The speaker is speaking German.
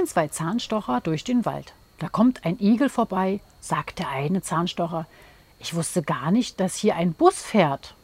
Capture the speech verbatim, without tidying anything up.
gehen zwei Zahnstocher durch den Wald. Da kommt ein Igel vorbei, sagt der eine Zahnstocher. Ich wusste gar nicht, dass hier ein Bus fährt.